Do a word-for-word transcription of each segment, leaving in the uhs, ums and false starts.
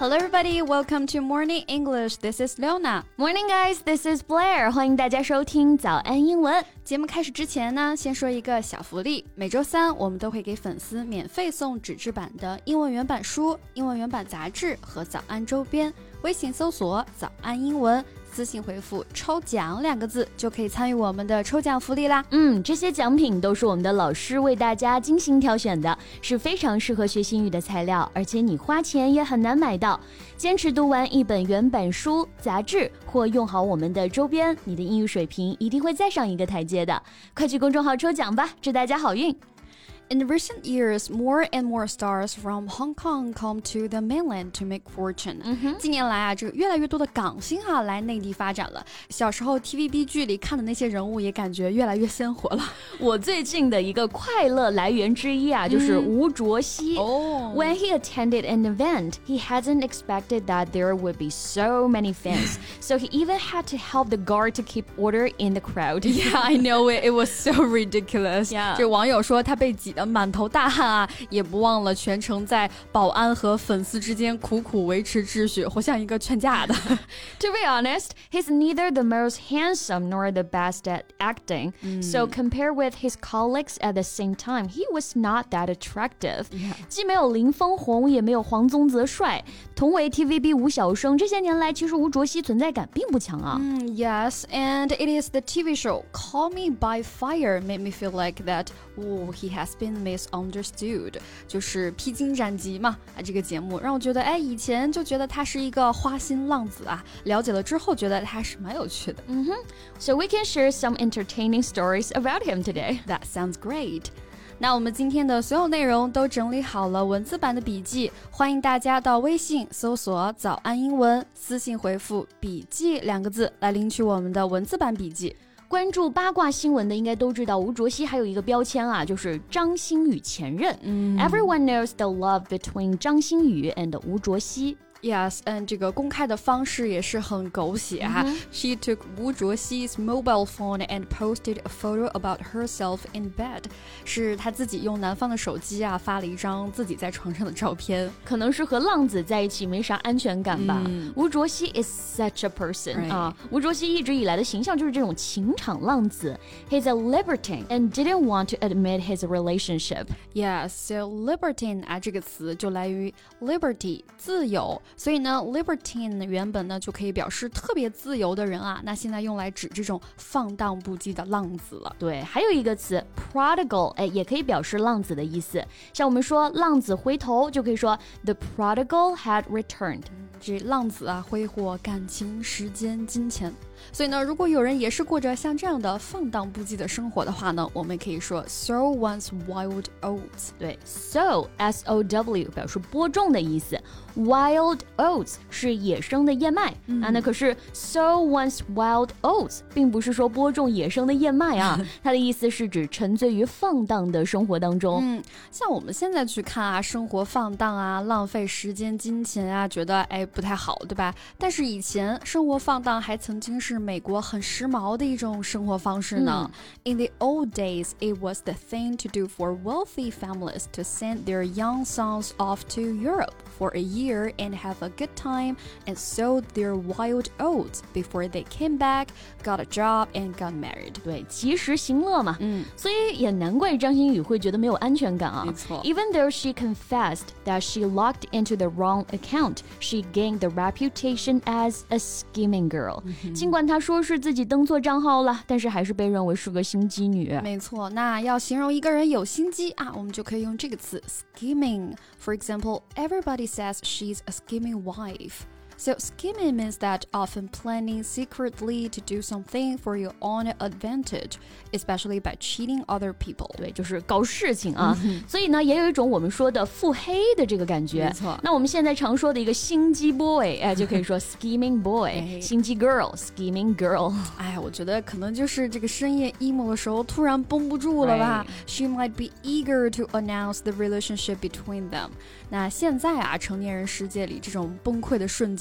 Hello everybody, welcome to Morning English. This is Leona. Morning guys, this is Blair. 欢迎大家收听早安英文。 节目开始之前呢，先说一个小福利。每周三我们都会给粉丝免费送纸质版的英文原版书、英文原版杂志和早安周边。微信搜索早安英文，私信回复抽奖两个字就可以参与我们的抽奖福利啦。 嗯，这些奖品都是我们的老师为大家精心挑选的，是非常适合学习英语的材料，而且你花钱也很难买到。坚持读完一本原版书、杂志或用好我们的周边，你的英语水平一定会再上一个台阶的。快去公众号抽奖吧，祝大家好运。 In recent years, more and more stars from Hong Kong come to the mainland to make fortune. 近年来啊，这个越来越多的港星啊来内地发展了。小时候 T V B 剧里看的那些人物也感觉越来越鲜活了。 我最近的一个快乐来源之一啊，就是吴卓羲。 哦。 When he attended an event, he hadn't expected that there would be so many fans, so he even had to help the guard to keep order in the crowd. Yeah, I know it. It was so ridiculous. Yeah. 这网友说他被挤得满头大汗啊，也不忘了全程在保安和粉丝之间苦苦维持秩序，活像一个劝架的。 To be honest, he's neither the most handsome nor the best at acting. So compared with his colleagues at the same time, he was not that attractive. 既没有林峰红，也没有黄宗泽帅。同为 T V B 吴小生，这些年来其实吴卓羲存在感并不强啊。 Mm, yes, and it is the T V show Call Me by Fire made me feel like that. Oh, he has been misunderstood. 就是披荆斩棘嘛啊，这个节目让我觉得，哎，以前就觉得他是一个花心浪子啊，了解了之后觉得他是蛮有趣的。 嗯哼 So we can share some entertaining stories about him today. That sounds great. 那我们今天的所有内容都整理好了文字版的笔记，欢迎大家到微信搜索早安英文，私信回复笔记两个字来领取我们的文字版笔记。 关注八卦新闻的应该都知道，吴卓羲还有一个标签啊，就是张馨予前任。嗯、Everyone knows the love between 张馨予 and 吴卓羲。 Yes, and 这个公开的方式也是很狗血哈。Mm-hmm. She took Wu Zhuoxi's mobile phone and posted a photo about herself in bed. 是她自己用男方的手机啊发了一张自己在床上的照片。 可能是和浪子在一起没啥安全感吧。嗯、吴卓羲 is such a person、right. 啊，吴卓羲一直以来的形象就是这种情场浪子。He's a libertine and didn't want to admit his relationship. Yes, so libertine 啊这个词就来于 liberty 自由。所以呢 libertine 原本呢就可以表示特别自由的人啊，那现在用来指这种放荡不羁的浪子了。 对，还有一个词 prodigal， 哎，也可以表示浪子的意思。像我们说浪子回头，就可以说 the prodigal had returned。 这浪子啊，挥霍感情、时间、金钱。所以呢，如果有人也是过着像这样的放荡不羁的生活的话呢，我们可以说 sow one's wild oats。 对 ，sow S O W 表示播种的意思 ，wild oats 是野生的燕麦、嗯、啊。那可是 sow one's wild oats 并不是说播种野生的燕麦啊，它的意思是指沉醉于放荡的生活当中。 嗯，像我们现在去看啊，生活放荡啊，浪费时间、金钱啊，觉得哎不太好，对吧？但是以前生活放荡还曾经是美国很时髦的一种生活方式呢。嗯、In the old days, it was the thing to do for wealthy families to send their young sons off to Europe for a year and have a good time and sow their wild oats before they came back, got a job and got married. 对，及时行乐嘛。嗯，所以也难怪张馨予会觉得没有安全感啊。 没错。 Even though she confessed that she logged into the wrong account, she gained the reputation as a scheming girl. 尽管她说是自己登错账号了，但是还是被认为是个心机女。 没错，那要形容一个人有心机啊，我们就可以用这个词 scheming. For example, everybody says she's a scheming wife. So scheming means that often planning secretly to do something for your own advantage, especially by cheating other people. 对，就是搞事情啊。嗯、所以呢，也有一种我们说的腹黑的这个感觉。 没错。 那我们现在常说的一个心机 boy， 哎，就可以说 scheming boy， 心机 girl，scheming girl。 哎，我觉得可能就是这个深夜 emo 的时候突然绷不住了吧。Right. She might be eager to announce the relationship between them. 那现在啊，成年人世界里这种崩溃的瞬间。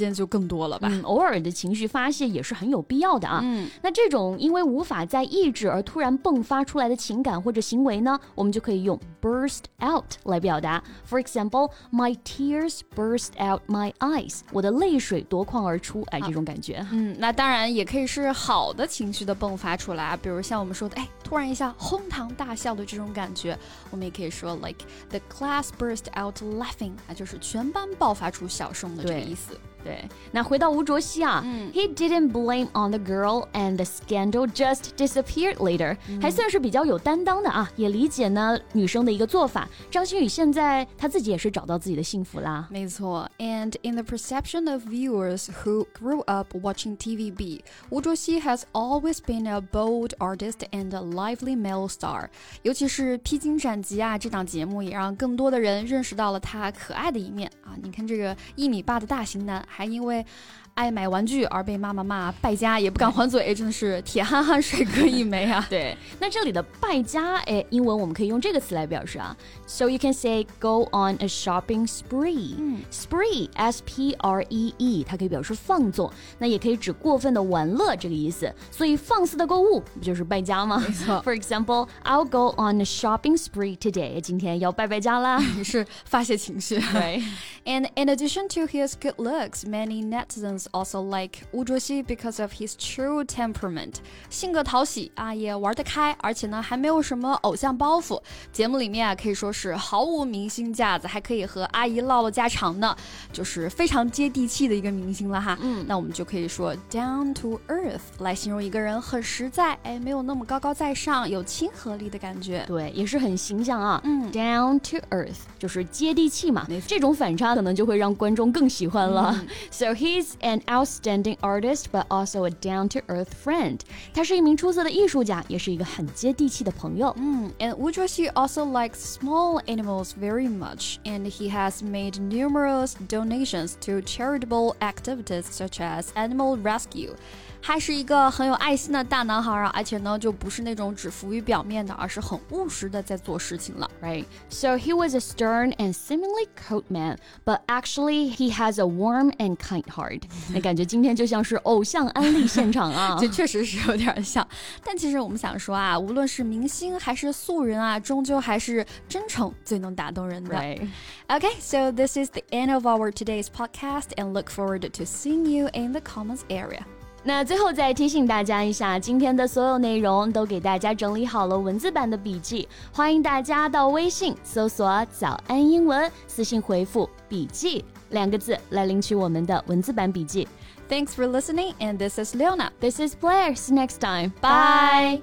间就更多了吧。 嗯，偶尔的情绪发泄也是很有必要的啊。 嗯， 那这种因为无法再抑制而突然迸发出来的情感或者行为呢，我们就可以用 burst out 来表达。For example, my tears burst out my eyes. 我的泪水夺眶而出，哎，这种感觉。 嗯，那当然也可以是好的情绪的迸发出来，比如像我们说的，哎，突然一下哄堂大笑的这种感觉，我们也可以说 like the class burst out laughing， 啊，就是全班爆发出笑声的这个意思。 对，那回到吴卓羲啊、嗯、，He didn't blame on the girl and the scandal just disappeared later，、嗯、还算是比较有担当的啊，也理解呢女生的一个做法。张馨予现在她自己也是找到自己的幸福啦。 没错 ，And in the perception of viewers who grew up watching T V B， 吴卓羲 has always been a bold artist and a lively male star。尤其是《披荆斩棘》啊这档节目，也让更多的人认识到了他可爱的一面啊。你看这个一米八的大型男。还因为爱买玩具而被妈妈骂败家，也不敢还嘴，真的是铁憨憨帅哥一枚啊。 对，那这里的败家，哎，英文我们可以用这个词来表示啊。So you can say go on a shopping spree、嗯、spree S P R E E 它可以表示放纵，那也可以指过分的玩乐这个意思，所以放肆的购物不就是败家吗？ 没错。 For example, I'll go on a shopping spree today， 今天要败败家啦。 也是发泄情绪。 对。 And in addition to his good looks, many netizens also like 吴卓羲 because of his true temperament. 性格讨喜啊，也玩得开，而且呢还没有什么偶像包袱。节目里面啊可以说是毫无明星架子，还可以和阿姨唠唠家常呢，就是非常接地气的一个明星了哈。嗯，那我们就可以说 down to earth 来形容一个人很实在，哎，没有那么高高在上，有亲和力的感觉。 对，也是很形象啊。 嗯 ，down to earth 就是接地气嘛。这种反差可能就会让观众更喜欢了。嗯、so he's an outstanding artist, but also a down-to-earth friend. 他是一名出色的艺术家，也是一个很接地气的朋友。 嗯 and 吴卓羲 also likes small animals very much, and he has made numerous donations to charitable activities such as animal rescue. 还是一个很有爱心的大男孩啊，而且呢，就不是那种只浮于表面的，而是很务实的在做事情了。 Right. So he was a stern and seemingly cold man, but actually he has a warm and kind heart. 那感觉今天就像是偶像安利现场啊， 这确实是有点像。但其实我们想说啊，无论是明星还是素人啊，终究还是真诚最能打动人的。 Right. Okay, so this is the end of our today's podcast, and look forward to seeing you in the comments area. 那最后再提醒大家一下，今天的所有内容都给大家整理好了文字版的笔记，欢迎大家到微信搜索早安英文，私信回复笔记两个字来领取我们的文字版笔记。 Thanks for listening, and this is Leona. This is Blair. See you next time. Bye.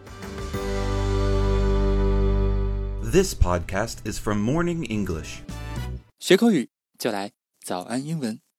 This podcast is from Morning English. 学口语就来早安英文。